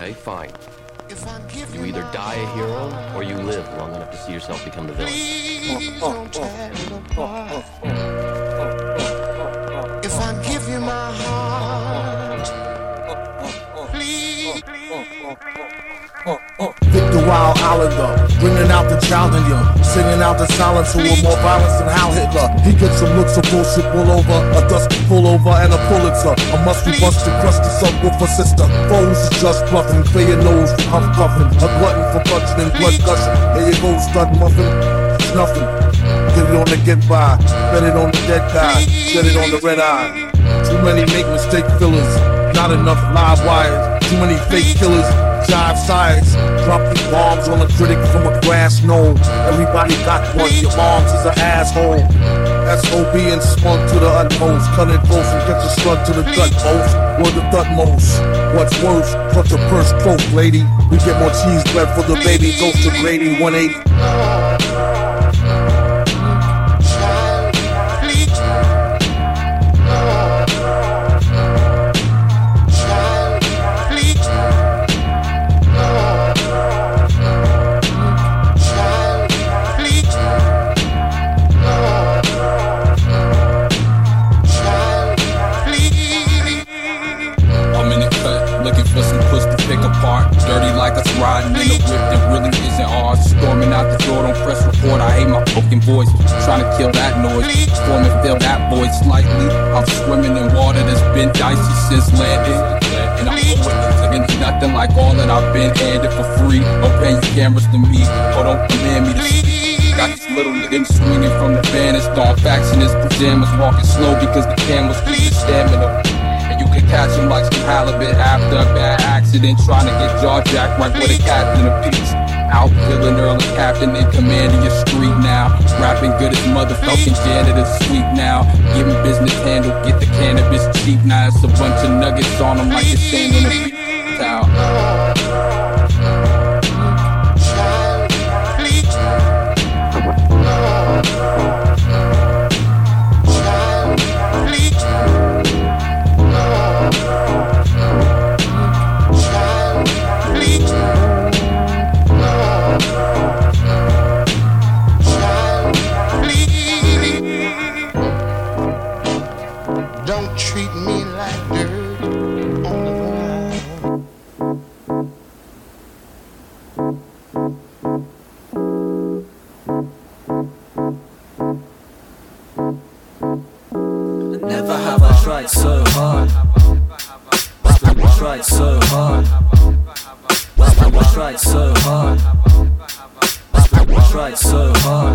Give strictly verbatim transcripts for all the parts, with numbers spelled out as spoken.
Okay, fine. You either die a hero, or you live long enough to see yourself become the villain. Please don't tear it apart. If I give you my heart, please, please, Victor Wild Islander, bringing out the challenger, singing out the silence who were more violent than Hal Hitler. He gets some looks of bullshit pull over, a dusty pullover and a Pulitzer. A musty busted crusty subwoofer sister. Foes is just bluffing, clear your nose from huff puffing. A glutton for punching and blood gushing. Here you go, stud muffin, it's nothing. Get it on the get by, bet it on the dead guy, get it on the red eye. Too many make mistake fillers, not enough live wires. Too many fake killers, jive sides. Dropping bombs on a critic from a grass knoll. Everybody got one, your mom's is an asshole. S O B and spunk to the utmost. Cut it close and get your slug to the gut most. Word of utmost. What's worse, cut your purse cloak, lady. We get more cheese bread for the baby. Goes to Grady one eighty. Dirty like us riding in a whip that really isn't ours. Storming out the door, don't press record. I hate my fucking voice. Trying to kill that noise. Storm and fill that void slightly. I'm swimming in water that's been dicey since landing. And I'm witnessing nothing like all that I've been handed for free. Don't pay your cameras to me, or don't command me to speak. Got this little nigga swinging from the banners, throwing facts in his pajamas, walking slow because the cameras keep his stamina. You can catch him like some halibut after a bad accident, trying to get jaw jacked right with a captain of peace. Out feeling early captain in command of your street now. Rapping good as motherfucking janitor sweet now. Giving business handle, get the cannabis cheap now. It's a bunch of nuggets on them like it's sand on a beach towel. don't treat me like dirt on the ground. Never have I tried so hard. I tried so hard. I tried so hard. I tried so hard.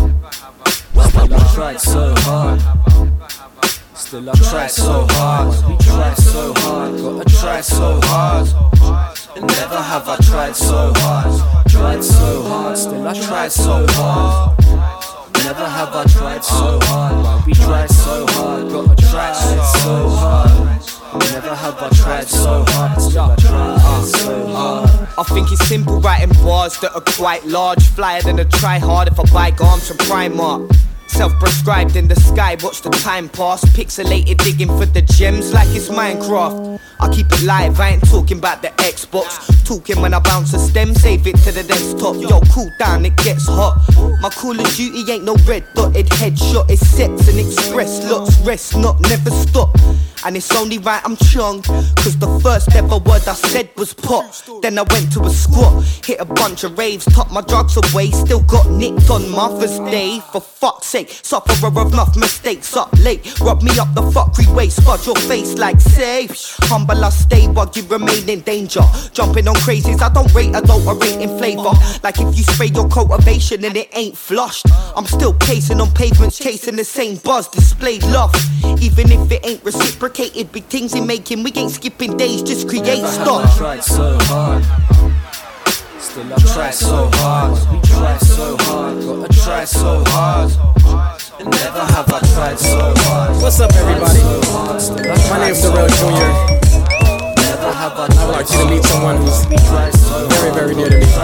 I tried so hard. Still I try so hard. We try so hard. Gotta try so hard. And never have I tried so hard. Tried so hard. Still I try so hard. Never have I tried so hard. We try so hard. Gotta try so hard. Never have I tried so hard. Still I try so hard. I think it's simple writing bars that are quite large. Flyer than a try hard if I buy garms from Primark. Self-prescribed in the sky, watch the time pass. Pixelated digging for the gems like it's Minecraft. I keep it live, I ain't talking about the Xbox. Talking when I bounce a stem, save it to the desktop. Yo, cool down, it gets hot. My Call of Duty ain't no red dotted headshot. It's sets and express, lots, rest not, never stop. And it's only right I'm chung, cause the first ever word I said was pop. Then I went to a squat, hit a bunch of raves, took my drugs away. Still got nicked on Mother's Day, for fuck's sake. Sufferer of enough mistakes, up late. Rub me up the fuckery way, spud your face like safe. Humble I stay while you remain in danger. Jumping on crazies, I don't rate adulterating flavour. Like if you spray your cultivation and it ain't flushed. I'm still pacing on pavements, chasing the same buzz, displayed love. Even if it ain't reciprocated, big things in making, we ain't skipping days, just create Never stuff. have I tried so hard. Still I try so hard. We try so hard. Gotta try so hard. And never have I tried so hard. What's up, everybody? My name's Darrell Junior Never have I I would like you to meet someone who's very, very dear to me.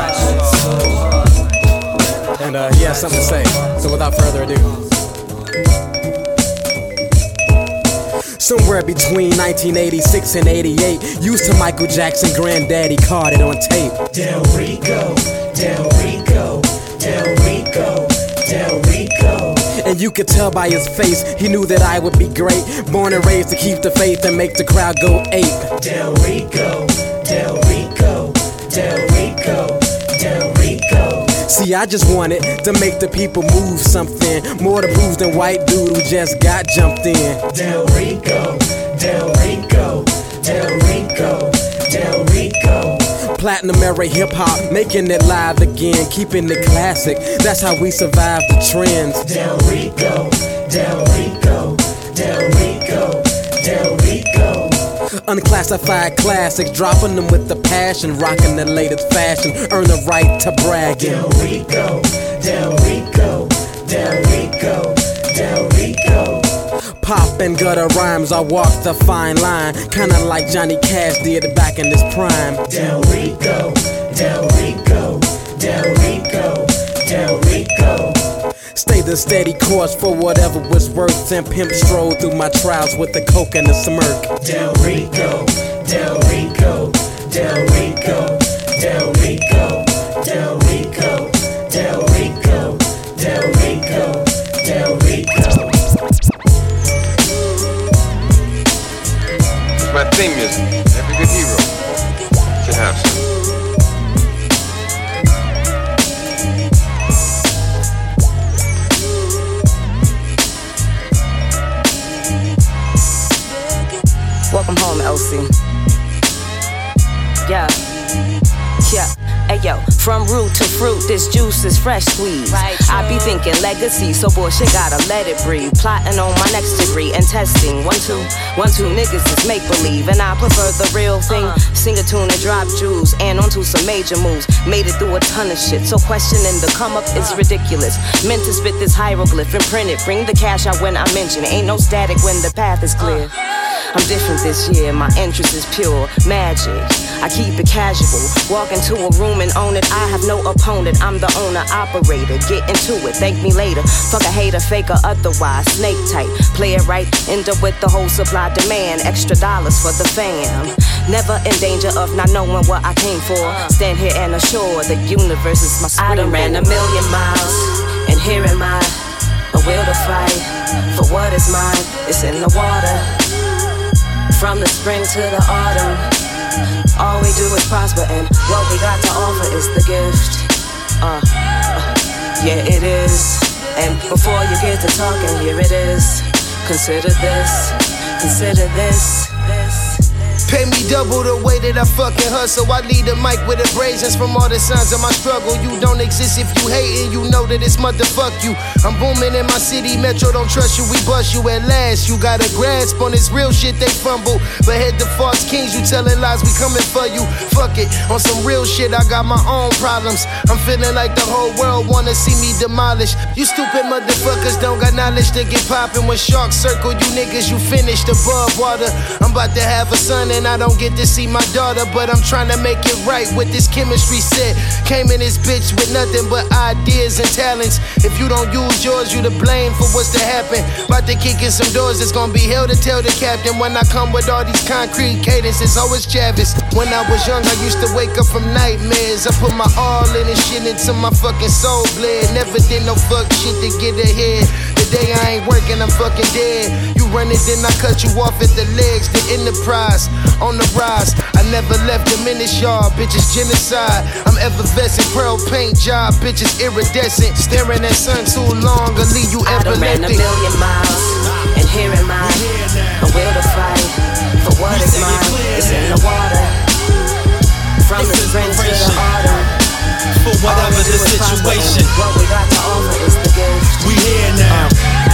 And uh, he has something to say. So without further ado. Somewhere between nineteen eighty-six and eighty-eight. Used to Michael Jackson, Granddaddy caught it on tape. Del Rico, Del Rico, Del Rico, Del Rico. And you could tell by his face, he knew that I would be great. Born and raised to keep the faith and make the crowd go ape. Del Rico, Del Rico, Del Rico, Del Rico. See, I just wanted to make the people move something. More to prove than white dude who just got jumped in. Del Rico, Del Rico, Del Rico, Del Rico. Platinum era hip hop, making it live again, keeping it classic. That's how we survive the trends. Del Rico, Del Rico, Del Rico, Del Rico. Unclassified classics, dropping them with the passion, rocking the latest fashion, earn the right to bragging. Del Rico, Del Rico, Del Rico, Del Rico. Pop and gutter rhymes, I walk the fine line, kinda like Johnny Cash did back in his prime. Del Rico, Del Rico, Del Rico, Del Rico. Stay the steady course for whatever was worth, and pimp stroll through my trials with the coke and the smirk. Del Rico, Del Rico, Del Rico, Del Rico, Del Rico, Del Rico, Del Rico, Del Rico. My theme music. Every good hero should have some. Welcome home, L C. Yeah. Yeah. Ayo, from root to fruit, this juice is fresh squeezed. Right, I be thinking legacy, so bullshit gotta let it breathe. Plotting on my next degree and testing. One, two, one, two niggas is make believe, and I prefer the real thing. Uh-huh. Sing a tune and drop jewels, and onto some major moves. Made it through a ton of shit, so questioning the come up is ridiculous. Meant to spit this hieroglyph and print it. Bring the cash out when I mention it. Ain't no static when the path is clear. I'm different this year, my interest is pure magic. I keep it casual, walk into a room and own it. I have no opponent, I'm the owner, operator. Get into it, thank me later. Fuck a hater, fake or otherwise. Snake tight, play it right, end up with the whole supply demand. Extra dollars for the fam. Never in danger of not knowing what I came for. Stand here and assure the universe is my screen. I done ran a million miles, and here am I, a will to fight for what is mine. It's in the water. From the spring to the autumn, all we do is prosper, and what we got to offer is the gift. Uh, uh, yeah, it is. And before you get to talking, here it is. Consider this, consider this, this. Pay me double the way that I fucking hustle. I lead the mic with abrasions from all the signs of my struggle. You don't exist if you hating, you know that it's motherfuck you. I'm booming in my city, Metro don't trust you, we bust you at last. You got a grasp on this real shit, they fumble. But head to false kings, you telling lies, we coming for you. Fuck it, on some real shit, I got my own problems. I'm feeling like the whole world wanna see me demolished. You stupid motherfuckers don't got knowledge to get poppin'. When sharks circle you niggas, you finished above water. I'm about to have a son and I don't get to see my daughter, but I'm trying to make it right with this chemistry set. Came in this bitch with nothing but ideas and talents. If you don't use yours, you to blame for what's to happen. About to kick in some doors, it's gonna be hell to tell the captain. When I come with all these concrete cadences, oh it's Travis. When I was young, I used to wake up from nightmares. I put my all in and shit into my fucking soul bled. Never did no fuck shit to get ahead. The day I ain't working, I'm fucking dead. You run it, then I cut you off at the legs. The enterprise on the rise. I never left them in this yard, bitches genocide. I'm effervescent, pearl paint job, bitches iridescent. Staring at sun too long, I'll leave you epileptic. I done ran a million miles, and here am I, a will to fight for what is mine. It's in the water, from the spring to the autumn. For whatever the situation, what we got to offer is the gift. We here now.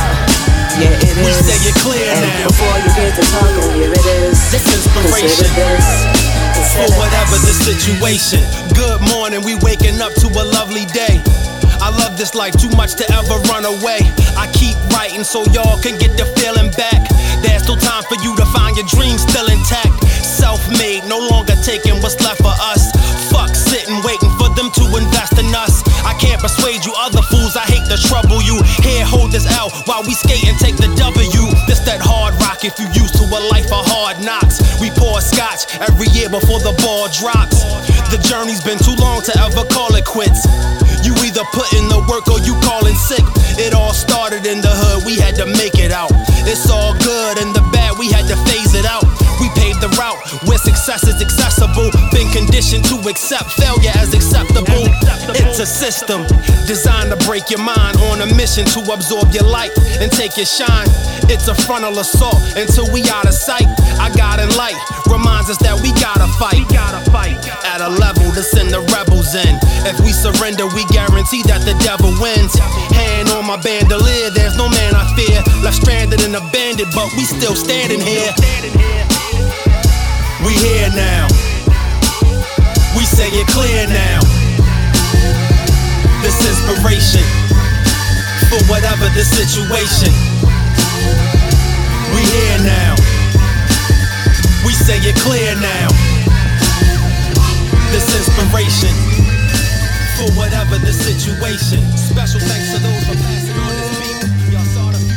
Yeah, it we is. stay it clear and now. Before you get to talking, here it is. This inspiration. Consider this. Consider For whatever the situation. Good morning, we waking up to a lovely day. I love this life too much to ever run away. I keep writing so y'all can get the feeling back. There's still time for you to find your dreams still intact. Self-made, no longer taking what's left for us. Fuck sitting, waiting for them to invest in us. I can't persuade you other fools, I hate to trouble you. Here, hold this L while we skate and take the W. This that hard rockin' if you used to a life of hard knocks. We pour scotch every year before the ball drops. The journey's been too long to ever call it quits. You either put in the work or you callin' sick. It all started in the hood, we had to make it out. It's all good and the bad, we had to phase it out. We paved the route where success is accessible. Been conditioned to accept failure as acceptable. It's a system designed to break your mind, on a mission to absorb your light and take your shine. It's a frontal assault until we out of sight. I got in light reminds us that we gotta fight. We gotta fight at a level to send the rebels in. If we surrender, we guarantee that the devil wins. Hand on my bandolier, there's no man I fear. Left stranded and abandoned, but we still standing here. We here now. We say it clear now. This inspiration for whatever the situation. We here now. We say it clear now. This inspiration for whatever the situation. Special thanks to those for passing on this beat. Y'all saw the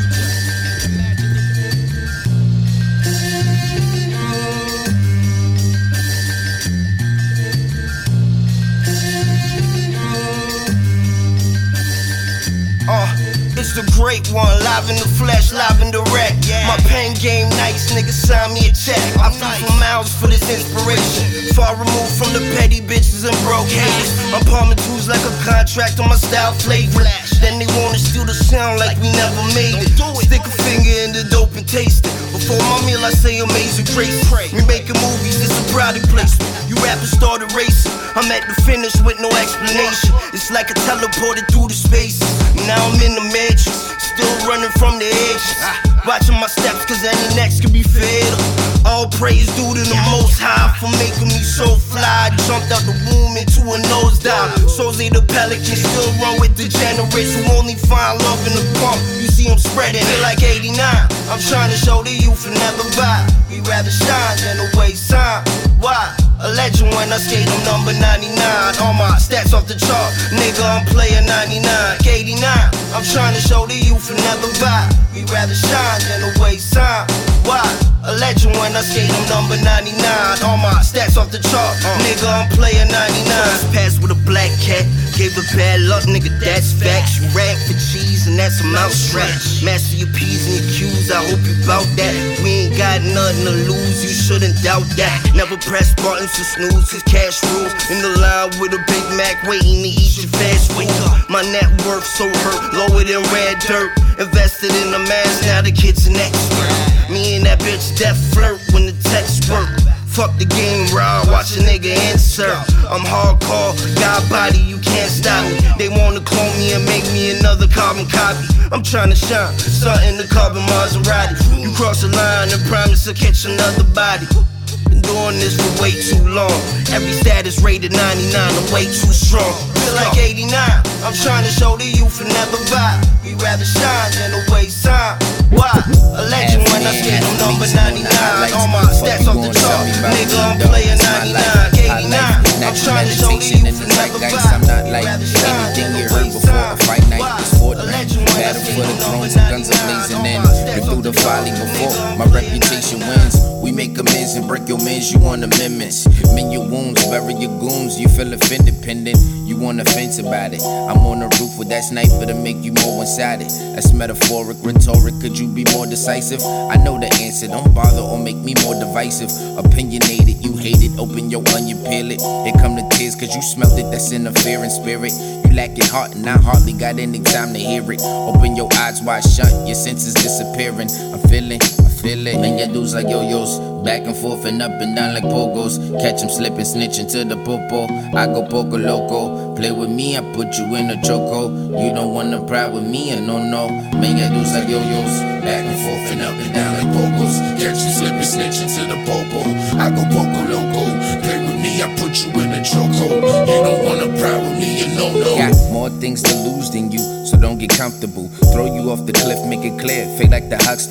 Uh, it's the great one, live in the flesh, live in direct. My pen game nice, nigga, sign me a check. I flew for miles for this inspiration. Far removed from the petty bitches and broke haters. I'm palming twos like a contract on my style flavor. Then they wanna steal the sound like we never made it. Stick a finger in the dope and taste it. Before my meal, I say amazing grace. We making movies, it's a product placement. You rappers started racing. I'm at the finish with no explanation. It's like I teleported through the spaces. Now I'm in the matrix, still running from the edges. Watching my steps, cause any next could be fatal. All praise due to the Most High for making me so fly. Jumped out the womb into a nosedive. Sozy the pelican still run with degenerates who only find love in the pump. You see them spreading it like eighty-nine. I'm trying to show the youth and never buy. We rather shine than a waste time. Why? A legend when I skate, I'm number ninety-nine. All my stats off the chart, nigga, I'm player ninety-nine. eighty-nine, I'm trying to show the youth and never buy. We rather shine than a waste time. Why? A legend when I skate, I'm number ninety-nine. All my stats off the chart, nigga, I'm player ninety-nine. Pass with a black cat, gave her bad luck, nigga, that's facts. You rap for cheese and that's a mouth strap. Master your P's and your Q's, I hope you bout that. We ain't got nothing to lose, you shouldn't doubt that. Never press buttons to snooze, cause cash rules. In the line with a Big Mac, waiting to eat your fast food. My net worth so hurt, lower than red dirt. Invested in the mask, now the kid's an expert. Me and that bitch death flirt when the text work. Fuck the game, raw, watch a nigga insert. I'm hardcore, got body, you can't stop me. They wanna clone me and make me another carbon copy. I'm tryna shine, something to carbon Maserati. You cross the line and promise to catch another body. Been doing this for way too long. Every status rated ninety-nine, I'm way too strong. Feel like eighty-nine, I'm trying to show the youth and never buy. We rather shine than a waste time. Why? A legend when I skate, I'm number ninety-nine. All my stats off the chart, nigga, I'm player ninety-nine. eighty-nine, I'm trying to show the youth and never buy. I'm not like anything you heard before. A fight night is Fortnite. Battle for the thrones and guns are blazing in. Been through the folly before, my reputation wins. We make amends and break your mans, you want amendments. Mend your wounds, bury your goons, you feel offended, pendant. You want offense about it. I'm on the roof with that sniper to make you more one-sided. That's metaphoric, rhetoric, could you be more decisive? I know the answer, don't bother or make me more divisive. Opinionated, you hate it, open your onion, peel it. Here come the tears, cause you smelled it, that's interfering spirit. You lacking heart and I hardly got any time to hear it. Open your eyes wide shut, your senses disappearing. I'm feeling, I feel it. Man, your dudes like yo-yos, back and forth and up and down like pogos. Catch 'em slipping, snitching to the popo. I go poco loco. Play with me, I put you in a choco. You don't wanna pride with me, I no no. Man, your dudes like yo-yos, back and forth and up and down like pogos. Catch you slipping, snitching to the popo. I go poco loco. Play with me, I put you in a choco. You don't wanna pride with me, you no no. Got more things to lose than you, so don't get comfortable. Throw you off the cliff, make it clear, fake like the Huxtables.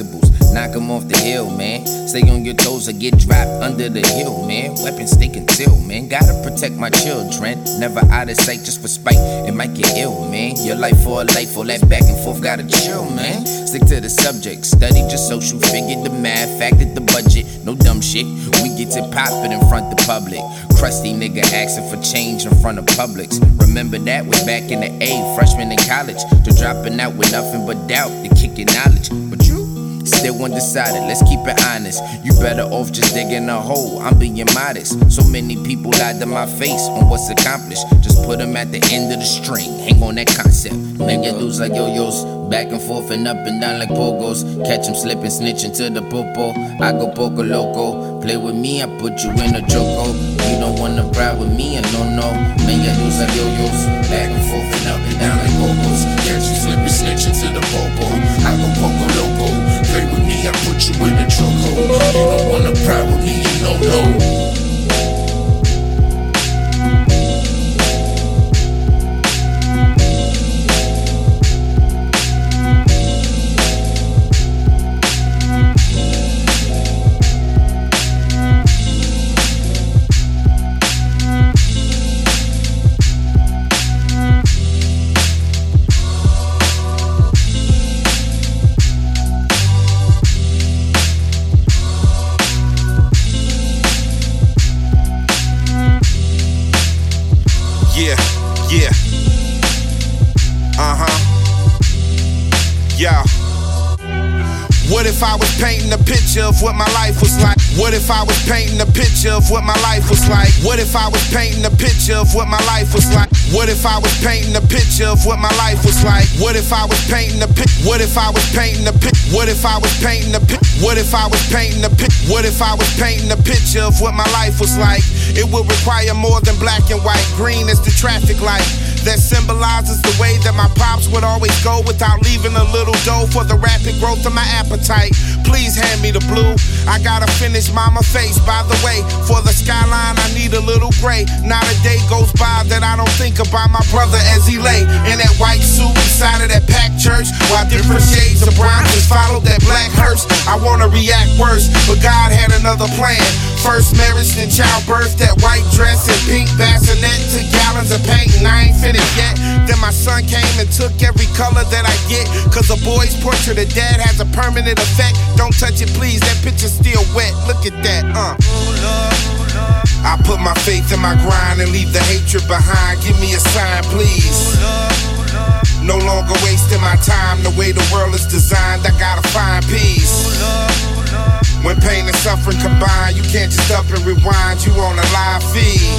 knock 'em off the hill, man. Stay on your toes or get dropped under the hill, man. Weapons stay concealed, man. Gotta protect my children. Never out of sight just for spite. It might get ill, man. Your life for a life, all that back and forth gotta chill, man. Stick to the subject, study just social, figure the math, factor the budget. No dumb shit, we get it poppin' in front the public. Crusty nigga asking for change in front of Publix. Remember that was back in the A, freshman in college. To dropping out with nothing but doubt, to kicking knowledge. But you still undecided, let's keep it honest. You better off just digging a hole, I'm being modest. So many people lied to my face on what's accomplished. Just put them at the end of the string, hang on that concept. Make your dudes like yo-yos, back and forth and up and down like pogos. Catch them slipping, snitching to the popo. I go poco loco, play with me, I put you in a choco. You don't wanna ride with me, I don't know. Make your dudes like yo-yos, back and forth and up and down like pogos. Catch them slipping, snitching to the popo. I go poco loco, play with me, I put you in a choco. You don't wanna ride with me, you don't know. if I was painting a picture of what my life was like? What if I was painting a picture of what my life was like? What if I was painting a picture of what my life was like? What if I was painting a picture of what my life was like? What if I was painting a pic? What if I was painting a pic? What if I was painting a pic? What if I was painting a pic? What if I was painting a picture of what my life was like? It would require more than black and white. Green is the traffic light that symbolizes the way that my pops would always go without leaving a little dough for the rapid growth of my appetite. Please hand me the blue. I gotta finish mama face. By the way, for the skyline I need a little gray. Not a day goes by that I don't think about my brother as he lay in that white suit inside of that packed church, while different shades of brown just followed that black hearse. I wanna react worse, but God had another plan. First marriage, then childbirth, that white dress and pink bassinet, took gallons of paint and I ain't finished yet. Then my son came and took every color that I get, cause a boy's portrait of dad has a permanent effect. Don't touch it please, that picture's still wet. Look at that, uh I put my faith in my grind and leave the hatred behind. Give me a sign please. No longer wasting my time the way the world is designed. I gotta find peace. When pain and suffering combine, you can't just up and rewind. You on a live feed.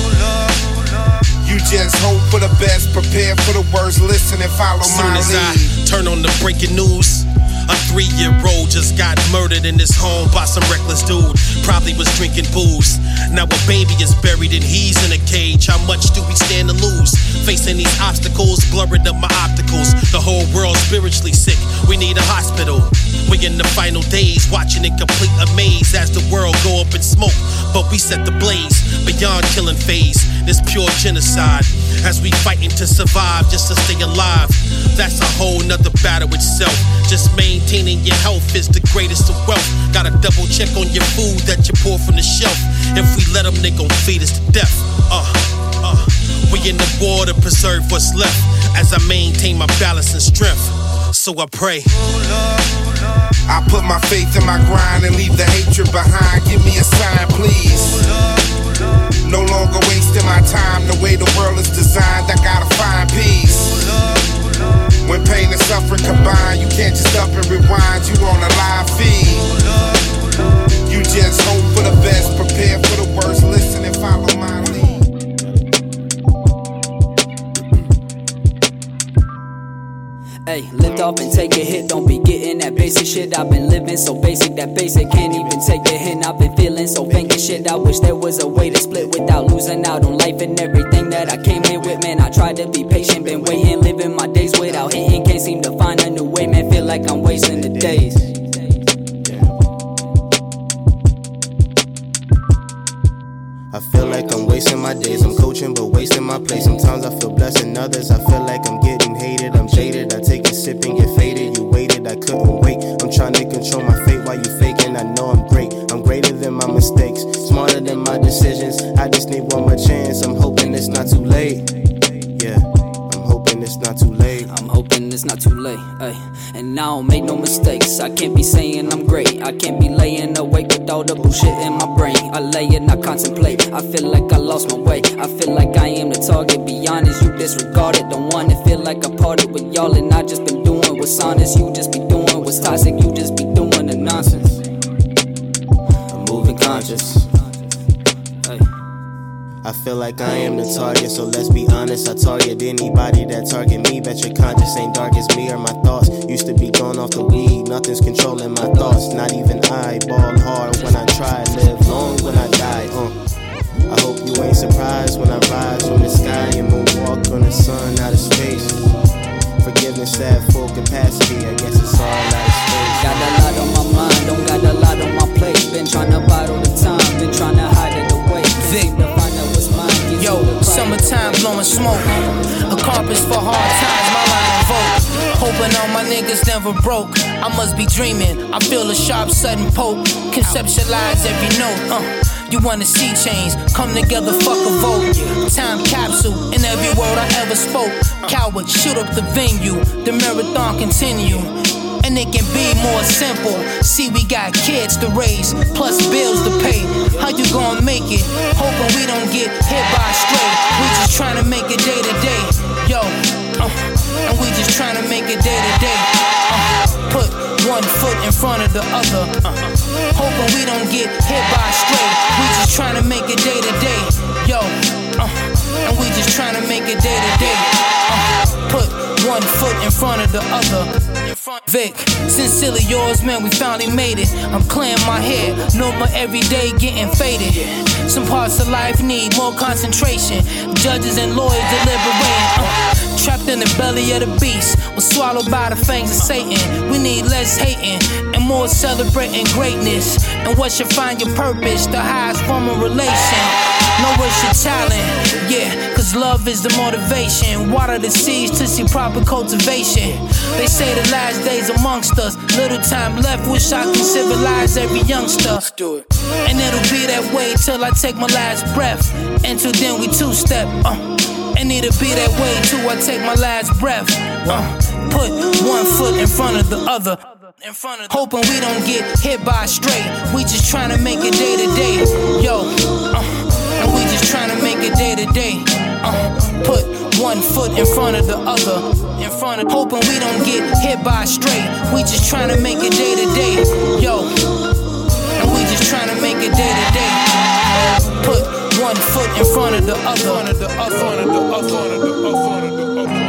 You just hope for the best, prepare for the worst. Listen and follow my lead. Soon as I turn on the breaking news, a three-year-old just got murdered in his home by some reckless dude. Probably was drinking booze. Now a baby is buried and he's in a cage. How much do we stand to lose? Facing these obstacles, blurring up my opticals. The whole world's spiritually sick. We need a hospital. We in the final days, watching in complete amaze as the world go up in smoke. But we set the blaze beyond killing phase. This pure genocide as we fighting to survive just to stay alive. That's a whole nother battle itself. Just maintaining your health is the greatest of wealth. Gotta double check on your food that you pour from the shelf. If we let them, they gon' feed us to death. Uh, uh, we in the war to preserve what's left as I maintain my balance and strength. So I pray. I put my faith in my grind and leave the hatred behind. Give me a sign, please. No longer wasting my time the way the world is designed. I gotta find peace. When pain and suffering combine, you can't just up and rewind. You on a live feed. You just hope for the best, prepare for the worst. Listen and follow my lead. Hey, lift off and take a hit, don't be getting that basic shit. I've been living so basic, that basic can't even take a hint. I've been feeling so faint and shit. I wish there was a way to split without losing out on life and everything that I came here with. Man, I tried to be patient, been waiting, living my days without hitting. Can't seem to find a new way, man, feel like I'm wasting the days. I feel like I'm wasting my days. I'm coaching but wasting my place. Sometimes I feel blessed and others I feel like I'm getting hated. I'm jaded, I take a sip and get faded. You waited, I couldn't couldn't wait. I'm trying to control my fate while you faking. I know I'm great, I'm greater than my mistakes, smarter than my decisions. I just need one more chance. I'm hoping it's not too late. Yeah, I'm hoping it's not too late. I'm hoping it's not too late, ay. And I don't make no mistakes. I can't be saying I'm great. I can't be laying awake with all the bullshit in my brain. I lay and I contemplate. I feel like I lost my way. I feel like I am the target. Be honest, you disregarded. Don't wanna feel like I parted with y'all, and I just been doing what's honest. You just be doing what's toxic. You just be doing the nonsense. I'm moving conscious. I feel like I am the target, so let's be honest. I target anybody that target me. Bet your conscience ain't dark as me or my thoughts. Used to be going off the weed, nothing's controlling my thoughts. Not even I ball hard when I try, live long when I die. Uh. I hope you ain't surprised when I rise from the sky and moonwalk on the sun out of space. Forgiveness at full capacity, I guess it's all out of space. Got a lot on my mind, don't got a lot on my plate. Been tryna bottle the time, been tryna hide it away. Vic. Yo, summertime blowing smoke. A compass for hard times, my line of vote. Hoping all my niggas never broke. I must be dreaming, I feel a sharp sudden poke. Conceptualize every note, uh you wanna see change, come together, fuck a vote. Time capsule, in every word I ever spoke. Coward, shoot up the venue, the marathon continue. And it can be more simple. See, we got kids to raise, plus bills to pay. How you gonna make it? Hoping we don't get hit by a stray. We just tryna make it day to day. Yo, uh, and we just tryna make it day to day. Uh, put one foot in front of the other. Uh, hoping we don't get hit by a stray. We just tryna make it day to day. Yo, uh, and we just tryna make it day to day. Uh, put one foot in front of the other. Vic, sincerely yours, man, we finally made it. I'm clearing my head, no more everyday getting faded. Some parts of life need more concentration. Judges and lawyers deliberating. Uh, trapped in the belly of the beast, was swallowed by the fangs of Satan. We need less hating and more celebrating greatness. And what should find your purpose, the highest form of relation. Know what's your talent, yeah, cause love is the motivation. Water the seeds to see proper cultivation. They say the last days amongst us, little time left, wish I can civilize every youngster. Let's do it. And it'll be that way till I take my last breath. Until then we two-step, uh, and it'll be that way till I take my last breath. Uh, put one foot in front of the other. In front of hoping we don't get hit by a stray. We just tryna make it day to day. Yo, uh, and we just tryna make it day to day. Uh, put one foot in front of the other. In front of hoping we don't get hit by a stray. We just tryna make it day to day. Yo, and we just tryna make it day to day. Put one foot in front of the other. Front of the other. Front of the other. Front of the other. Front of the other.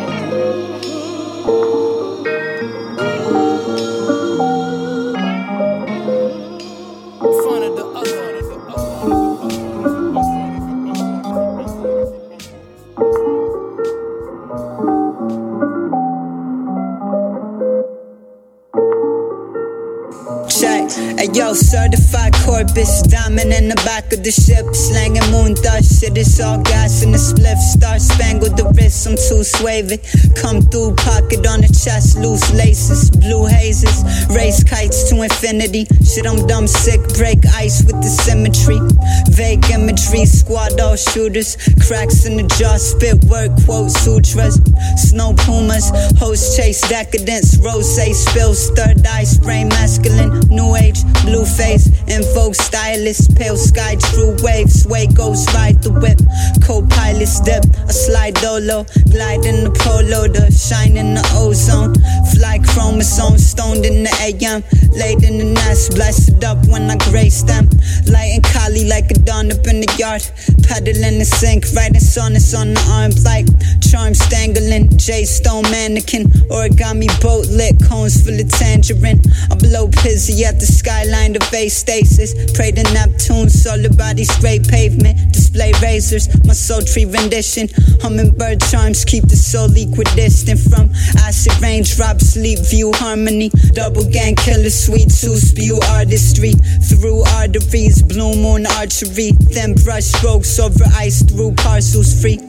Hey yo, certified Corpus, diamond in the back of the ship, slanging moon dust. Shit, it's all gas in the spliff. Star spangled the wrist, I'm too swavy. Come through, pocket on the chest, loose laces, blue hazes, race kites to infinity. Shit, I'm dumb sick, break ice with the symmetry. Vague imagery, squad all shooters, cracks in the jaw, spit word, quote sutras. Snow pumas, host chase decadence, rose spills, third eye spray masculine, new age. Blue face, invoke stylist, pale sky, true wave, sway, ghost ride the whip, co-pilot's dip, a slide dolo, glide in the polo, the shine in the ozone, fly chromosome, stoned in the A M, laid in the nest, blessed up when I grace them, light and Kali like a dawn up in the yard, pedal in the sink, writing sonnets on the arms like charm stangling, J Stone mannequin, origami boat lit, cones full of tangerine, I blow pizzy at the skyline of base stasis, pray to Neptune, solar body straight pavement, display razors, my sultry rendition, hummingbird charms keep the soul equidistant from acid raindrops, sleep view harmony, double gang killer sweets who spew artistry through arteries, blue moon archery, thin brush strokes over ice through parcels free.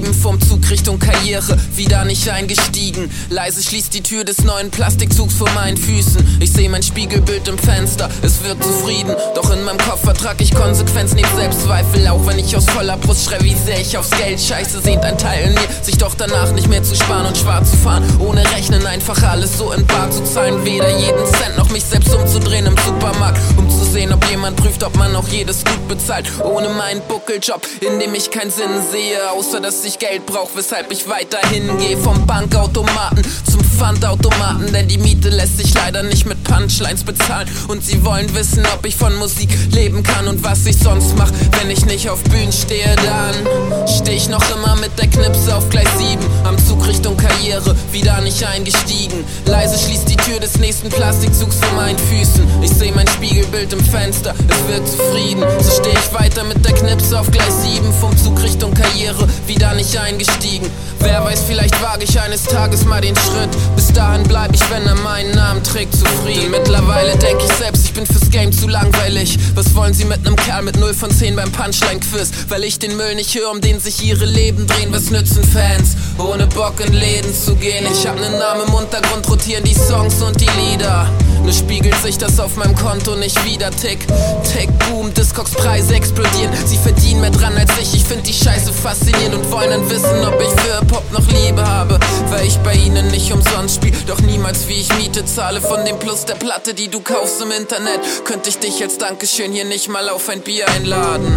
sieben vom Zug Richtung Karriere, wieder nicht eingestiegen. Leise schließt die Tür des neuen Plastikzugs vor meinen Füßen. Ich seh mein Spiegelbild im Fenster, es wirkt zufrieden. Doch in meinem Kopf vertrag ich Konsequenz neben Selbstzweifel. Auch wenn ich aus voller Brust schrei, wie sehr ich aufs Geld scheiße, sehnt ein Teil in mir, sich doch danach nicht mehr zu sparen und schwarz zu fahren. Ohne Rechnen einfach alles so in Bar zu zahlen. Weder jeden Cent noch mich selbst umzudrehen im Supermarkt, um zu sehen, ob jemand prüft, ob man auch jedes gut bezahlt. Ohne meinen Buckeljob, in dem ich keinen Sinn sehe, außer dass ich Geld brauch, weshalb ich weiterhin gehe. Vom Bankautomaten zum Pfandautomaten, denn die Miete lässt sich leider nicht mit Punchlines bezahlen. Und sie wollen wissen, ob ich von Musik leben kann und was ich sonst mach, wenn ich nicht auf Bühnen stehe. Dann steh ich noch immer mit der Knipse auf Gleis sieben, am Zug Richtung Karriere, wieder nicht eingestiegen. Leise schließt die Tür des nächsten Plastikzugs vor meinen Füßen. Ich seh mein Spiegelbild im Fenster, es wird zufrieden. So steh ich weiter mit der Knipse auf Gleis sieben, vom Zug Richtung Karriere, wieder nicht eingestiegen. Wer weiß, vielleicht wage ich eines Tages mal den Schritt. Bis dahin bleib ich, wenn er meinen Namen trägt, zufrieden. Mittlerweile denk ich selbst, ich bin fürs Game zu langweilig. Was wollen sie mit nem Kerl mit null von zehn beim Punchline-Quiz? Weil ich den Müll nicht höre, um den sich ihre Leben drehen. Was nützen Fans, ohne Bock in Läden zu gehen? Ich hab nen Namen im Untergrund, rotieren die Songs und die Lieder. Nur spiegelt sich das auf meinem Konto nicht wieder. Tick, tick, boom, Discogs-Preise explodieren. Sie verdienen mehr dran als ich, ich find die Scheiße faszinierend und wollen dann wissen, ob ich für Hip-Hop noch Liebe habe. Weil ich bei ihnen nicht umsonst spiel, doch niemals wie ich Miete zahle. Von dem Plus der Platte, die du kaufst im Internet, könnte ich dich als Dankeschön hier nicht mal auf ein Bier einladen.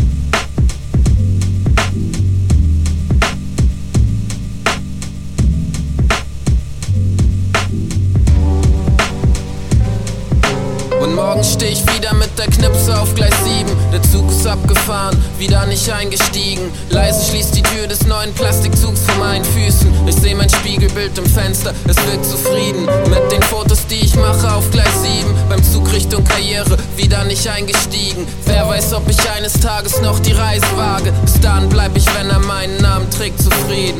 Und morgen steh ich wieder mit der Knipse auf Gleis sieben. Der Zug ist abgefahren, wieder nicht eingestiegen. Leise schließt die Tür des neuen Plastikzugs vor meinen Füßen. Ich seh mein Spiegelbild im Fenster, es wirkt zufrieden. Mit den Fotos, die ich mache auf Gleis sieben, beim Zug Richtung Karriere, wieder nicht eingestiegen. Wer weiß, ob ich eines Tages noch die Reise wage. Bis dahin bleib ich, wenn er meinen Namen trägt, zufrieden.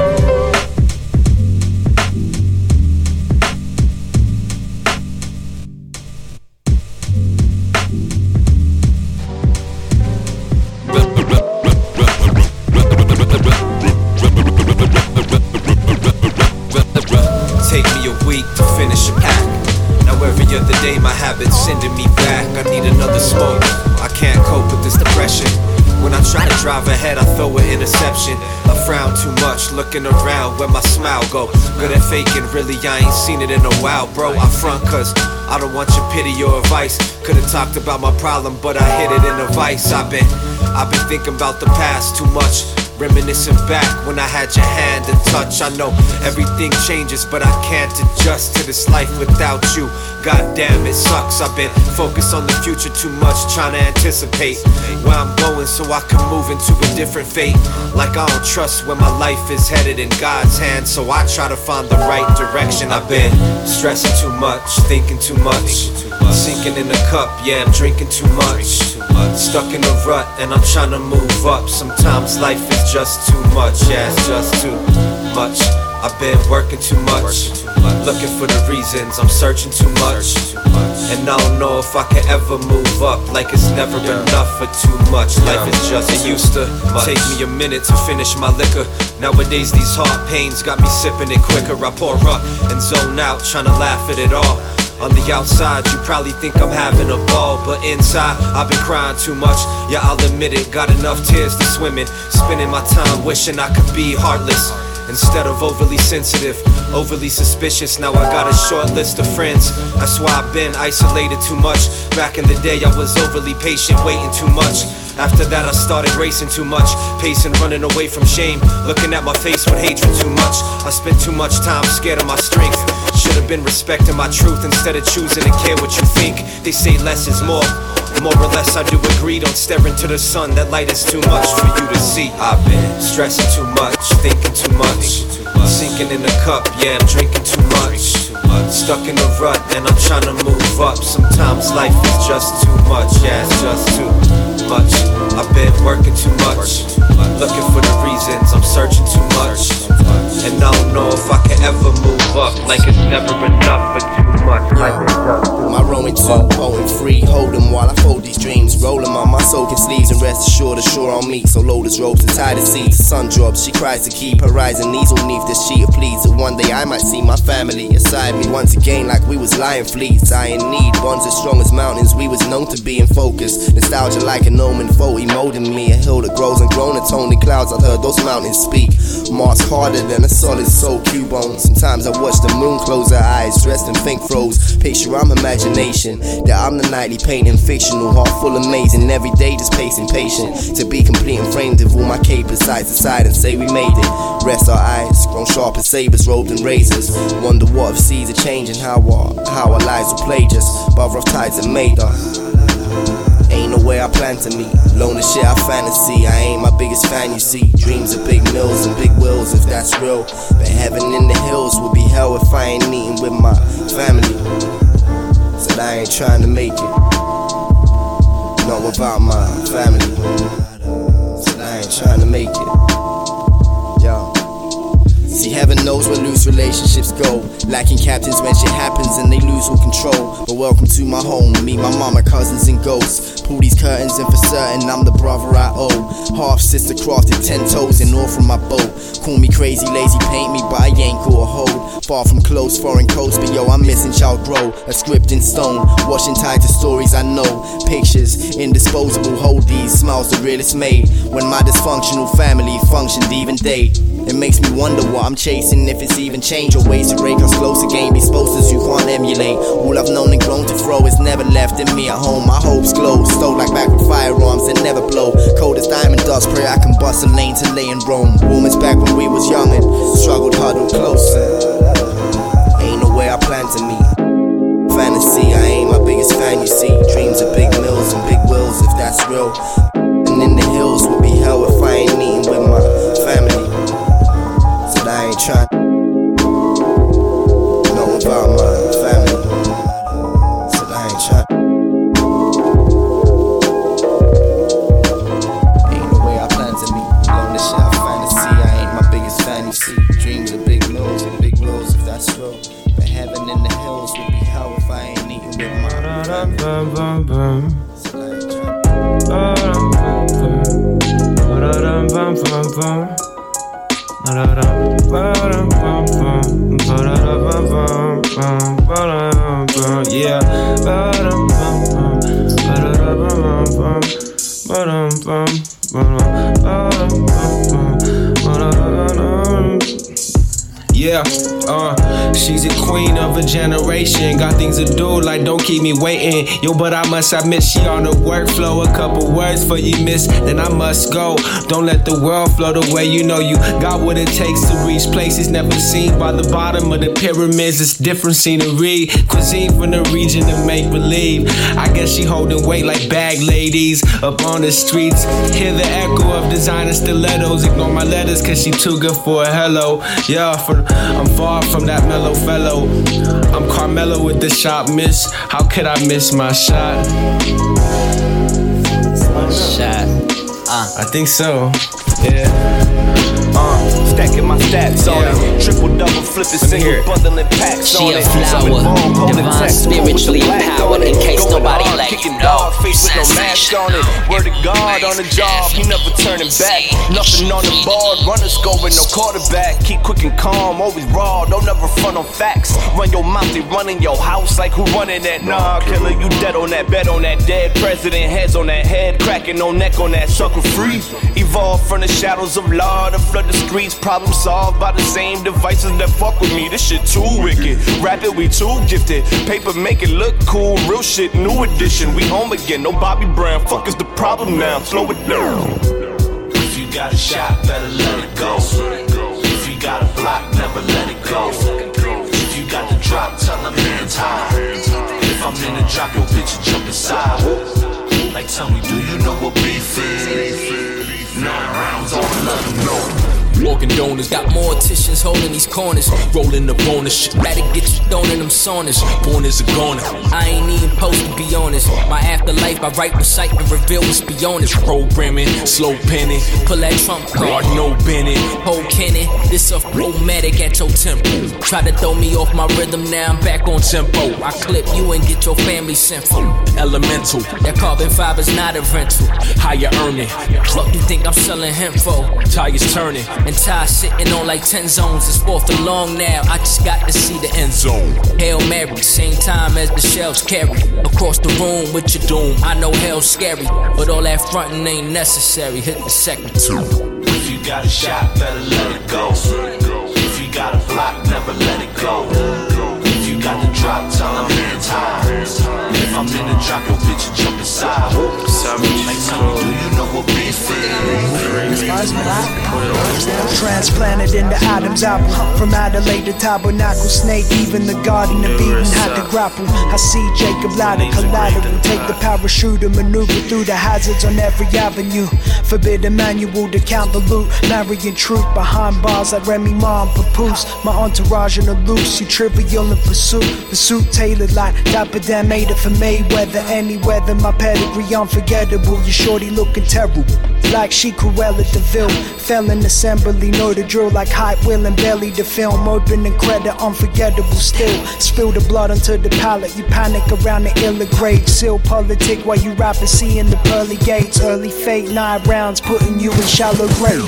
Take me a week to finish a pack. Now every other day my habits sending me back. I need another smoke, I can't cope with this depression. When I try to drive ahead, I throw an interception. I frown too much, looking around where my smile go. Good at faking, really I ain't seen it in a while, bro. I front cause I don't want your pity or advice. Could've talked about my problem, but I hid it in a vice. I've been, I've been thinking about the past too much. Reminiscing back when I had your hand and touch. I know everything changes, but I can't adjust to this life without you. God damn, it sucks. I've been focused on the future too much, trying to anticipate where I'm going so I can move into a different fate. Like I don't trust where my life is headed in God's hands, so I try to find the right direction. I've been stressing too much, thinking too much, sinking in the cup, yeah, I'm drinking too much. Stuck in a rut and I'm trying to move up. Sometimes life is just too much, yeah, it's just too much. I've been working too much, looking for the reasons, I'm searching too much. And I don't know if I can ever move up, like it's never enough for too much. Life is just too much. It used to take me a minute to finish my liquor. Nowadays these heart pains got me sipping it quicker. I pour up and zone out, trying to laugh at it all. On the outside, you probably think I'm having a ball, but inside, I've been crying too much. Yeah, I'll admit it, got enough tears to swim in. Spending my time wishing I could be heartless instead of overly sensitive, overly suspicious. Now I got a short list of friends, that's why I've been isolated too much. Back in the day I was overly patient, waiting too much. After that I started racing too much, pacing, running away from shame, looking at my face with hatred too much. I spent too much time scared of my strength. Should've been respecting my truth instead of choosing to care what you think. They say less is more, more or less I do agree. Don't stare into the sun, that light is too much for you to see. I've been stressing too much, thinking too much, sinking in the cup, yeah, I'm drinking too much. Stuck in a rut and I'm trying to move up. Sometimes life is just too much, yeah, it's just too much. I've been working too much, looking for the reasons, I'm searching too much. And I don't know if I can ever move up, like it's never enough for too much. Life is just too much. My Roman two, oh and free, hold them while I fold these dreams. Rolling on my soaking sleeves and rest assured, ashore on me. So load his ropes and tie the seats. The sun drops, she cries to keep her rising knees underneath this sheet of pleats. That one day I might see my family aside me once again, like we was lion fleets. I in need, bonds as strong as mountains. We was known to be in focus. Nostalgia like an omen, foe emoting me. A hill that grows and grown in tony clouds. I've heard those mountains speak. Mars harder than a solid soul cubone. Sometimes I watch the moon close her eyes, dressed in pink froze. Picture I'm imagination, that I'm the nightly painting fictional, heart full amazing. Every day just pacing patient to be complete and framed of all my capers side to side and say we made it. Rest our eyes, grown sharp as sabers, robed in razors. Wonder what if seas are changing, how our, how our lives will play just by rough tides that made us. Ain't no way I plan to meet. Lone the shit I fantasy. I ain't my biggest fan, you see. Dreams of big mills and big wills, if that's real. But heaven in the hills would be hell if I ain't eating with my family. Said I ain't trying to make it, not without my family. Said I ain't trying to make it. Yo. See, heaven knows where loose relationships go. Lacking captains when shit happens and they lose all control. But welcome to my home, me, my mama, cousins and ghosts. Pull these curtains and for certain I'm the brother I owe. Half sister crafted ten toes and all from my boat. Call me crazy, lazy, paint me, but I ain't got a hold. Far from close, foreign coast, but yo, I'm missing child grow. A script in stone, washing tied to stories I know. Pictures, indisposable, hold these. Smiles the realest made when my dysfunctional family functioned even day. It makes me wonder what I'm chasing, if it's even change or ways to rake us close again. These posters you can't emulate. All I've known and grown to throw is never left in me at home. My hopes glow, stole like back with firearms that never blow. Cold as diamond dust, pray I can bust a lane to lay in Rome. Warm as back when we was young and struggled huddled close. Ain't no way I plan to meet. Fantasy, I ain't my biggest fan, you see. Dreams of big mills and big wills, if that's real. And in the hills would be hell if I ain't eating with my family. Said I ain't trying, not without my family. Said I ain't trying. Ain't no way I plan to meet. Long as shit I fantasy, I ain't my biggest fan, you see. Dreams of big mills and big wills, if that's real. But heaven in the hills would be hell if I ain't eating with my family. Said I ain't trying. Yeah. Yeah, uh, she's a queen of a generation. Got things to do, like don't keep me waiting. Yo, but I must admit she on the workflow. A couple words for you miss, then I must go. Don't let the world float away. You know you got what it takes to reach places never seen. By the bottom of the pyramids, it's different scenery. Cuisine from the region to make believe. I guess she holding weight like bag ladies up on the streets. Hear the echo of designer stilettos. Ignore my letters cause she too good for a hello. Yeah, for I'm far from that mellow fellow. I'm Carmelo with the shot miss. How could I miss my shot? Shot. Uh. I think so. Yeah. Uh, stacking my stats on yeah. it. Triple double flipping, single bundling packs she on it. She a flower, divine, spiritually empowered. In case nobody let you know. Face with no mask on it. Word of God on the job, he never turning back. Nothing on the board, runners go with no quarterback. Keep quick and calm, always raw, don't never front on facts. Run your mouth, they running your house like who running that? Nah, killer, you dead on that, bet on that dead president. Heads on that head, cracking no neck on that sucker free. Evolve from the shadows of law to flood the streets. Problem solved by the same devices that fuck with me. This shit too wicked. Rap it, we too gifted. Paper make it look cool. Real shit, new edition. We home again. No Bobby Brown. Fuck is the problem now? Slow it down. If you got a shot, better let it go. If you got a block, never let it go. If you got the drop, tell them hands high. If I'm in the drop, your bitch will jump inside. Like, tell me, do you know what beef is? Nine rounds on, let them know. fork and donors. Got morticians holding these corners, rolling the bonus. Shit, better get you thrown in them saunas. Born as a goner, I ain't even supposed to be honest. My afterlife, I write, recite, and reveal what's beyond this. Programming, slow penning, pull that trump card, no Bennett. Whole Kenny, this a romantic at your temple. Try to throw me off my rhythm, now I'm back on tempo. I clip you and get your family sent for. Elemental, that carbon fiber's not a rental. Higher earning, fuck you think I'm selling hemp for? Tires turning, and tires sitting on like ten zones. It's fourth and long now, I just got to see the end zone. Hail Mary, same time as the shells carry. Across the room with your doom, I know hell's scary, but all that frontin' ain't necessary. Hit the second two. If you got a shot, better let it go. If you got a block, never let it go. If you got the drop, tell them hands high. If I'm in the drop, your bitch will jump inside. Like tell me, do you know what beef is? Transplanted into Adam's apple. From Adelaide to Tabernacle, Snake, even the Garden of Eden had to grapple. I see Jacob Ladder collateral, take the parachute and maneuver through the hazards on every avenue. Forbidden manual to count the loot, marrying truth behind bars like Remy Ma and Papoose. My entourage on the loose, you trivial in pursuit. The suit tailored like Dapper Dan made it for Mayweather. Any weather, my pedigree unforgettable. Your shorty looking terrible, like she Cruella DeVille. Fell in assembly, know the drill like Hype Will and Belly. The film opening credit, unforgettable still. Spill the blood onto the palate, you panic around the illa grade. Seal politic while you rapping, seeing the pearly gates. Early fate, nine rounds, putting you in shallow grave.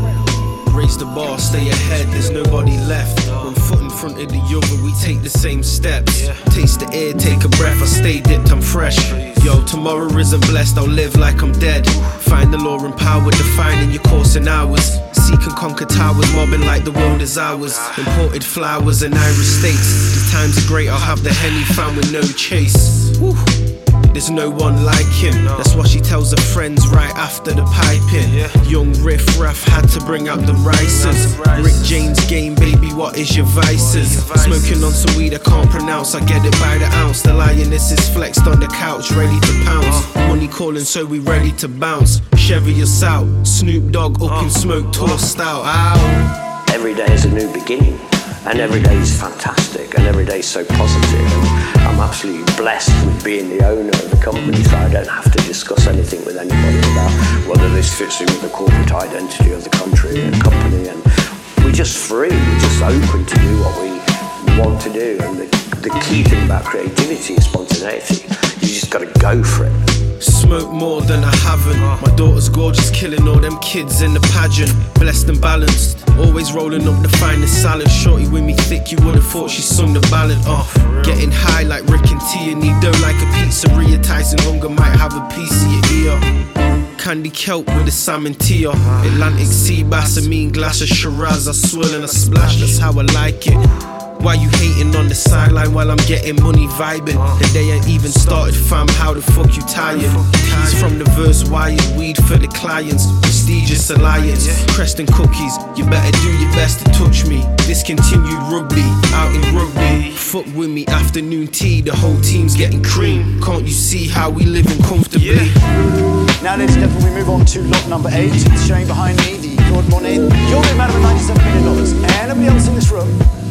Raise the bar, stay ahead, there's nobody left. One foot in front of the other, we take the same steps. Taste the air, take a breath, I stay dipped, I'm fresh. Yo, tomorrow isn't blessed, I'll live like I'm dead. Find the law and power, defining your course in hours. Seek and conquer towers, mobbing like the world is ours. Imported flowers and Irish states. These times are great, I'll have the Henny found with no chase. Woo. There's no one like him. That's what she tells her friends right after the piping. Young Riff Raff had to bring out the rices. Rick James game, baby, what is your vices? Smoking on some weed I can't pronounce, I get it by the ounce. The lioness is flexed on the couch, ready to pounce. Money calling, so we ready to bounce. Chevy us out, Snoop Dogg up in smoke, tossed out. Ow. Every day is a new beginning. And every day is fantastic, and every day is so positive. And I'm absolutely blessed with being the owner of the company, so I don't have to discuss anything with anybody about whether this fits in with the corporate identity of the country and company. And we're just free, we're just open to do what we want to do. And the, the key thing about creativity is spontaneity. You just got to go for it. Smoke more than I haven't. My daughter's gorgeous, killing all them kids in the pageant. Blessed and balanced, always rolling up the finest salad. Shorty with me thick, you would've thought she sung the ballad off. Getting high like Rick and T, and need dough like a pizzeria. Tyson Hunger might have a piece of your ear. Candy kelp with a salmon tea. Atlantic sea bass, a mean glass of Shiraz. I swirl and I splash, that's how I like it. Why you hating on the sideline while I'm getting money vibing? The day I even started, fam, how the fuck you tired? Keys from the verse, wired weed for the clients. Prestigious alliance, Creston cookies. You better do your best to touch me. Discontinued rugby, out in rugby. Fuck with me, afternoon tea, the whole team's getting cream. Can't you see how we living comfortably? Yeah. Now ladies and gentlemen, we move on to lot number eight. It's showing behind me the Claude Monet. You're the man of ninety-seven million dollars. Anybody else in this room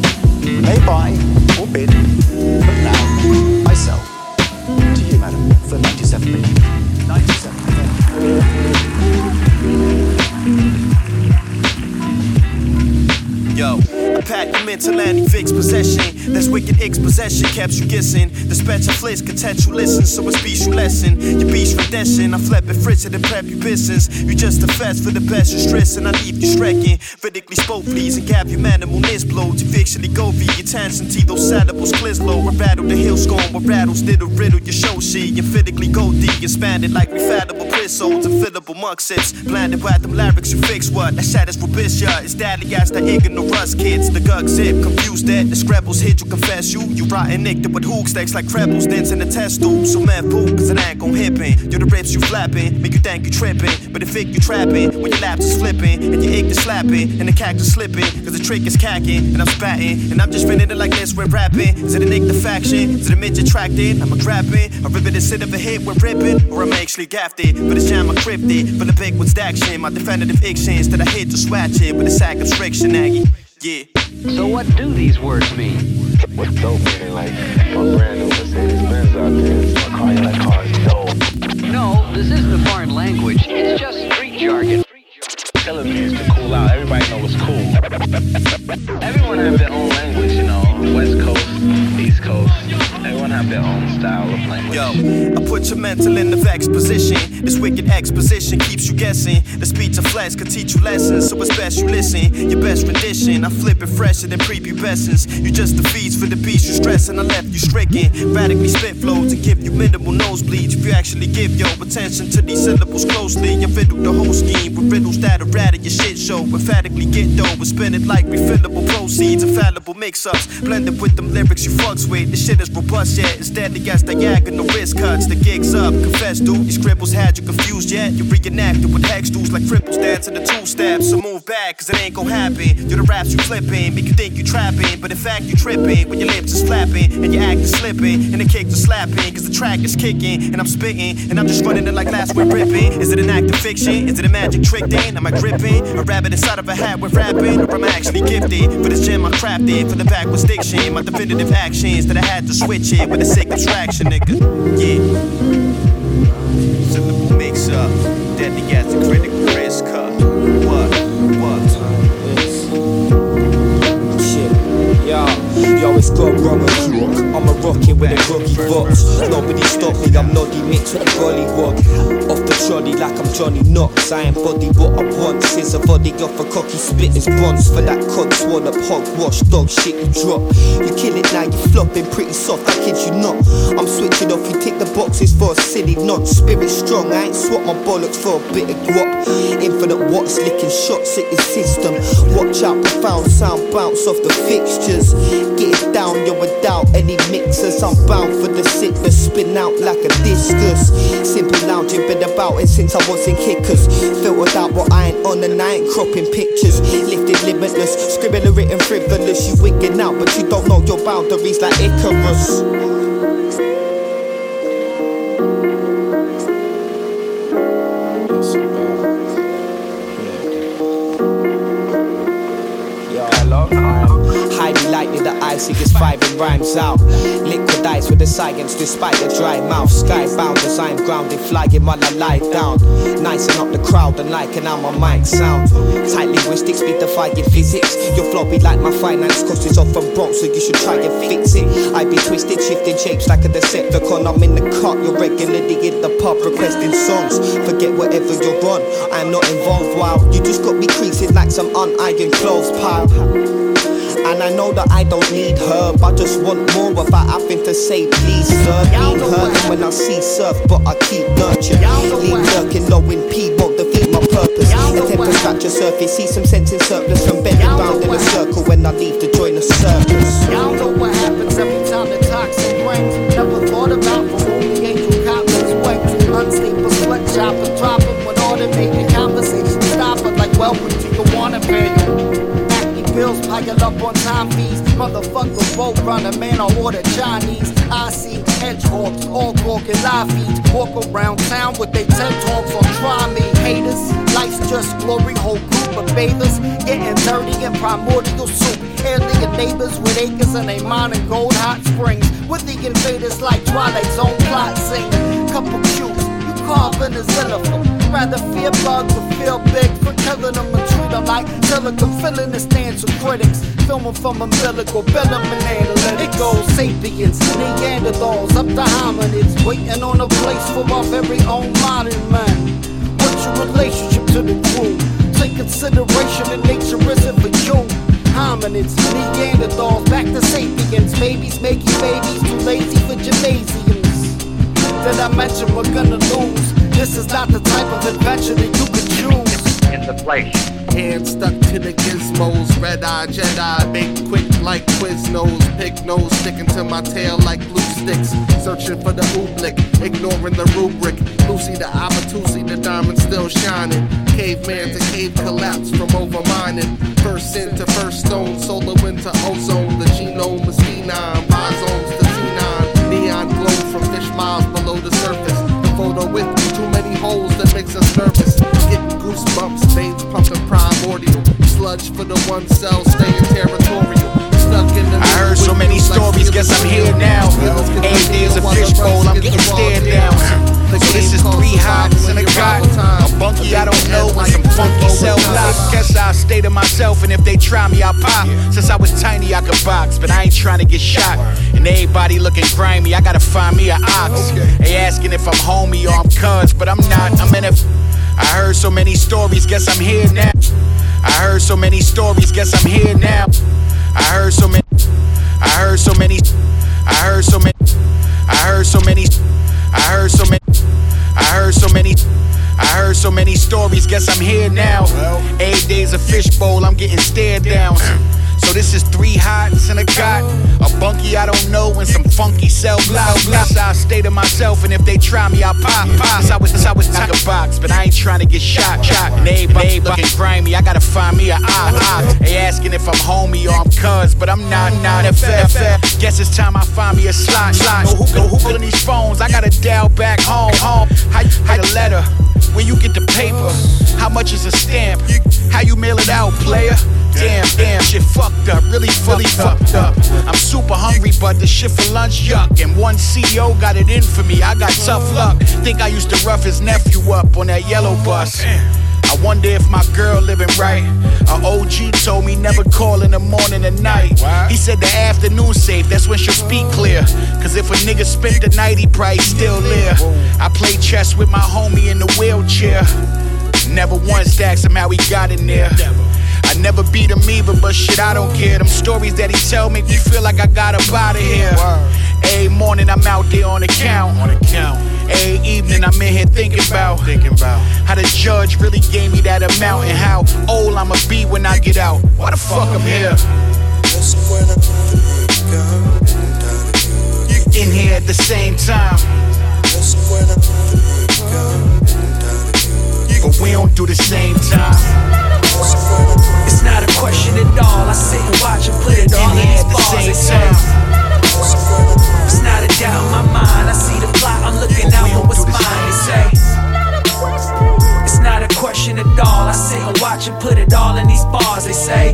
may buy or bid, but now I sell to you, madam, for ninety-seven million. ninety-seven million. Yo, I pack your mental and fixed possession. That's wicked expossession, kept you guessing. The special fliss, contextual listen, so it's beast you lesson. Your beast redemption, I flip it, fritz it, and prep your business. You just a fast for the best, you're stressing, I leave you strecking. Vertically spoke, please, and gap your manimalness blow. To fictionally go via your tension, those syllables, clislow. We battle the hill scorn, where rattles did a riddle, your show sheet. You physically go deep, expanded like refallable prisons and fillable monk sits. Blinded by them lyrics, you fix what? That shit is rubbish, yeah. It's daddy ass, the ignorant kids. The gug zip, confused that the scrabbles hit you, confess you. You rotten nicked with hook stacks like trebles, dents in the test tube. So man, fool, cause it ain't gon' hippin'. You're the rips you flapping, make you think you trippin'. But the fake you trapping, when your laps is flipping, and your ick is slapping, and the cactus slipping, cause the trick is cacking, and I'm spatting, and I'm just spinning it like this, we're rapping. Is it a nick the faction? Is it a midget tracked in? I'm a grabbing, a ribbon instead of a hit, we're ripping, or I'm actually gaffed it. For this jam I crypted, for the big one's action. My definitive actions that I hit to scratch it with a sack of friction, Aggie. Yeah. So what do these words mean? What's dope meaning? Like, my brand new Mercedes Benz out there. My car, you like cars, dope. No, this isn't a foreign language. It's just street jargon. Telling me is to cool out. Everybody know it's cool. Everyone have their own language, you know. West Coast, East Coast. Everyone have their own style of language. Yo, I put your mental in the vex position. This wicked exposition keeps you guessing. The speech of flesh could teach you lessons, so it's best you listen. Your best rendition, I flip it fresher than prepubescence. You just the feeds for the beast you stressing. I left you stricken. Radically spit flows and give you minimal nosebleeds. If you actually give your attention to these syllables closely, you fiddle the whole scheme with riddles that'll rat at your shit show. Emphatically get dough and spend it like refillable proceeds. Infallible mix-ups, blended with them lyrics you fucks with. This shit is robust yet. Instead, against diagonal wrist cuts. The gig's up. Confess, dude, these scribbles had you confused yet. You reenacted with hex dudes like cripples dancing the two steps. So move back, cause it ain't gon' happen. You're the raps you flipping, make you think you trapping, but in fact you tripping when your lips is flapping and your act is slipping and the kicks are slapping. Cause the track is kicking and I'm spitting and I'm just running it like last week ripping. Is it an act of fiction? Is it a magic trick then? Am I gripping a rabbit inside of a hat with rapping? Or am I actually gifted for this gem I crafted for the backwards diction? My definitive actions that I had to switch it with a sick abstraction, nigga. Yeah. Syllable mix up, deadly as a critical risk up. What? What? Shit. Yo, yo, it's gone wrong and crook. I'm a rocket with a groggy box. Nobody stop me, I'm noddy mixed with a gollywog. Off the trolley like I'm Johnny Knox. I ain't body what I want. Since a body off a cocky spit is bronze. For that cod swallow up hogwash, dog shit you drop. You kill it now, you flopping pretty soft, I kid you not. I'm switching off, you tick the boxes for a silly nod. Spirit strong, I ain't swap my bollocks for a bit of guap. Infinite watts, licking shots at your system. Watch out, profound sound bounce off the fixtures. Get it down, you're without any mixers. I'm bound for the sickness, spin out like a discus. Simple lounging, been about it since I was in kickers. Filtered out what I ain't on and I ain't cropping pictures. Lifted limitless, scribbling a written frivolous. You wigging out, but you don't know your boundaries like Icarus. Lightning the icy gets five and rhymes out. Liquid ice with the science despite the dry mouth. Skybound as I'm grounded, flying while I lie down. Nicing up the crowd and liking how my mic sound. Tight linguistics be defying physics. Your flow be like my finance cost is off from Bronx, so you should try and fix it. I be twisted, shifting shapes like a Decepticon. I'm in the cut, you're regularly in the pub requesting songs. Forget whatever you're on, I'm not involved. Wow, you just got me creasing like some unironed clothes pile. And I know that I don't need her, but I just want more without having to say please sir. Being hurting when I see surf, but I keep nurturing. Lean lurking low in P won't defeat my purpose. Attempt to scratch the surface, see some sense in surplus. From bending round in a circle when I leave to join the circus. Y'all know what happens every time the toxic rings. Never thought about for only angel copies wings. Unstable sweat chopper dropping when automated conversation stopping. Like welcome to the wanna pay. Bills pile up on time fees. Motherfuckers both run a man, I order Chinese. I see hedgehogs, all corking live feeds. Walk around town with they TED talks on try me. Haters, life's just glory, whole group of bathers. Getting dirty in primordial soup. Alien neighbors with acres and they mining gold hot springs. With the invaders like Twilight Zone plot sing. Couple cues, you carving a xylophone. Rather fear bugs or feel big for killing them and treat them like silicon. Filling the stands of critics. Filming from umbilical, bill them and analytics. It goes sapiens, Neanderthals, up to hominids. Waiting on a place for our very own modern man. What's your relationship to the crew? Take consideration that nature isn't for you. Hominids, Neanderthals, back to sapiens. Babies making babies, too lazy for gymnasiums. That I mentioned we're gonna lose. This is not the type of adventure that you could choose. In the place. Hands stuck to the gizmos, red eye Jedi, make quick like Quiznos, pig nose sticking to my tail like glue sticks, searching for the ooblik, ignoring the rubric. Lucy the Abatusi, the diamond still shining. Caveman to cave collapse from overmining. First sin to first stone, solar wind to ozone. The genome is phenom, rhizomes to xenon. Neon glow from fish miles below the surface. The photo with too many holes that sludge for the one cell staying territorial. I heard so many stories, guess I'm here now. Eight days of fishbowl, I'm getting stared down. So this is three hots and a got a bunky I don't know and some funky cell blocks. Guess I'll stay to myself, and if they try me, I'll pop. Since I was tiny, I could box, but I ain't trying to get shot. And everybody looking grimy, I gotta find me an ox. They asking if I'm homie or I'm cuz, but I'm not. I'm in a. I heard so many stories, guess I'm here now. I heard so many stories, guess I'm here now. I heard so many. I heard so many. I heard so many. I heard so many. I heard so many. I heard so many. I heard so many stories. Guess I'm here now. Eight days of fishbowl. I'm getting stared down. So this is three hots and a got a bunky I don't know and some funky cell blocks. I'll stay to myself, and if they try me, I'll pop. Pop. I was I was like a box, but I ain't trying to get shot. Shot. And everybody looking grimy. I gotta find me a eye. They asking if I'm homie or I'm cuz, but I'm not. Not F F. Guess it's time I find me a slot. Slot. Who who who on these phones? I gotta dial back home. Home. How how the letter? Where you get the paper? How much is a stamp? How you mail it out, player? Damn, damn, shit fucked up, really, really fucked up. I'm super hungry, but the shit for lunch, yuck. And one C E O got it in for me, I got tough luck. Think I used to rough his nephew up on that yellow bus. I wonder if my girl living right. A O G told me never call in the morning and night. He said the afternoon safe, that's when she'll speak clear. Cause if a nigga spent the night, he probably still there. I played chess with my homie in the wheelchair. Never once asked him how he got in there. I never beat him either, but shit, I don't care. Them stories that he tell make me feel like I got up out of here. Every morning I'm out there on the count. On the count. Every evening I'm in here thinking about, thinking about how the judge really gave me that amount and how old I'ma be when I get out. Why the fuck I'm here? In here at the same time. But we don't do the same time. It's not a question at all. I sit and watch and put it all in these bars. They say it's not a doubt in my mind. I see the plot. I'm looking out for what's mine. They say it's not a question at all. I sit and watch and put it all in these bars. They say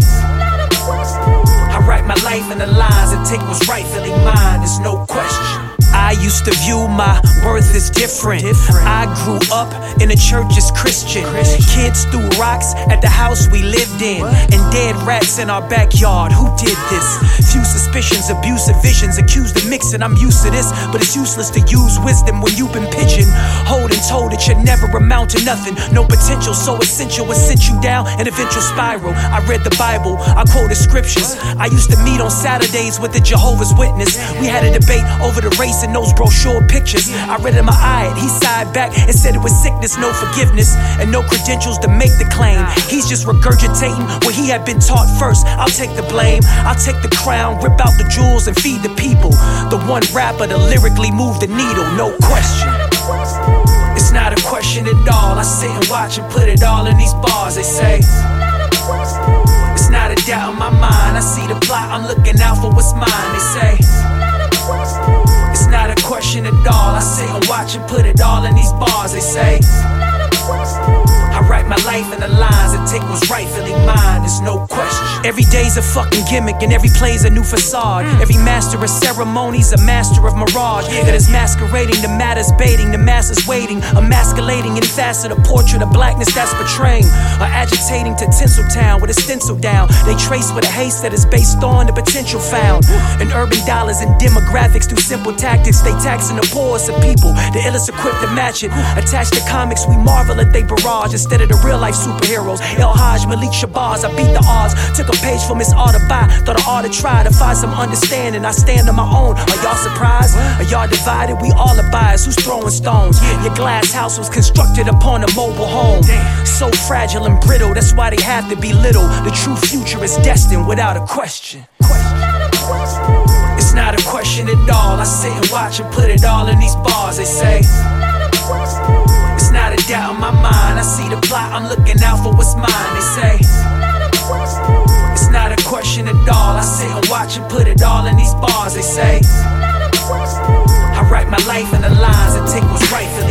I write my life in the lines and take what's rightfully mine. There's no question. I used to view my worth as different. I grew up in a church as Christian. Kids threw rocks at the house we lived in, and dead rats in our backyard. Who did this? Few suspicions, abusive visions, accused of mixing. I'm used to this, but it's useless to use wisdom when you've been pigeonholed and told it should never amount to nothing. No potential, so essential, it sent you down an eventual spiral. I read the Bible, I quoted scriptures. I used to meet on Saturdays with the Jehovah's Witness. We had a debate over the race and those brochure pictures. I read him, I eyed, he sighed back and said it was sickness, no forgiveness, and no credentials to make the claim. He's just regurgitating what he had been taught first. I'll take the blame, I'll take the crown, rip out the jewels and feed the people. The one rapper to lyrically move the needle, no question. It's not a question at all. I sit and watch and put it all in these bars. They say it's not a doubt in my mind. I see the plot, I'm looking out for what's mine. They say it's not a question at all. I sit and watch and put it all in these bars. They say I write my life in the lines and take what's rightfully mine. There's no question. Every day's a fucking gimmick and every play's a new facade. Every master of ceremonies, a master of mirage that is masquerading. The matter's baiting, the masses waiting, emasculating in facet a portrait of blackness that's betraying, or agitating to Tinseltown with a stencil down. They trace with a haste that is based on the potential found in urban dollars and demographics through simple tactics. They taxing the poorest of people, the illest equipped to match it. Attached to comics, we marvel at they barrage instead of the real life superheroes. El Haj, Malik Shabazz, I beat the odds. Took a page from his art to buy, thought I ought to try to find some understanding. I stand on my own. Are y'all surprised? Are y'all divided? We all are biased. Who's throwing stones? Your glass house was constructed upon a mobile home. So fragile and brittle, that's why they have to be little. The true future is destined without a question. It's not a question at all. I sit and watch and put it all in these bars. They say it's not a doubt in my mind. I see the plot, I'm looking out for what's mine. They say it's not a question at all. I sit and watch and put it all in these bars. They say I write my life in the lines and take what's right for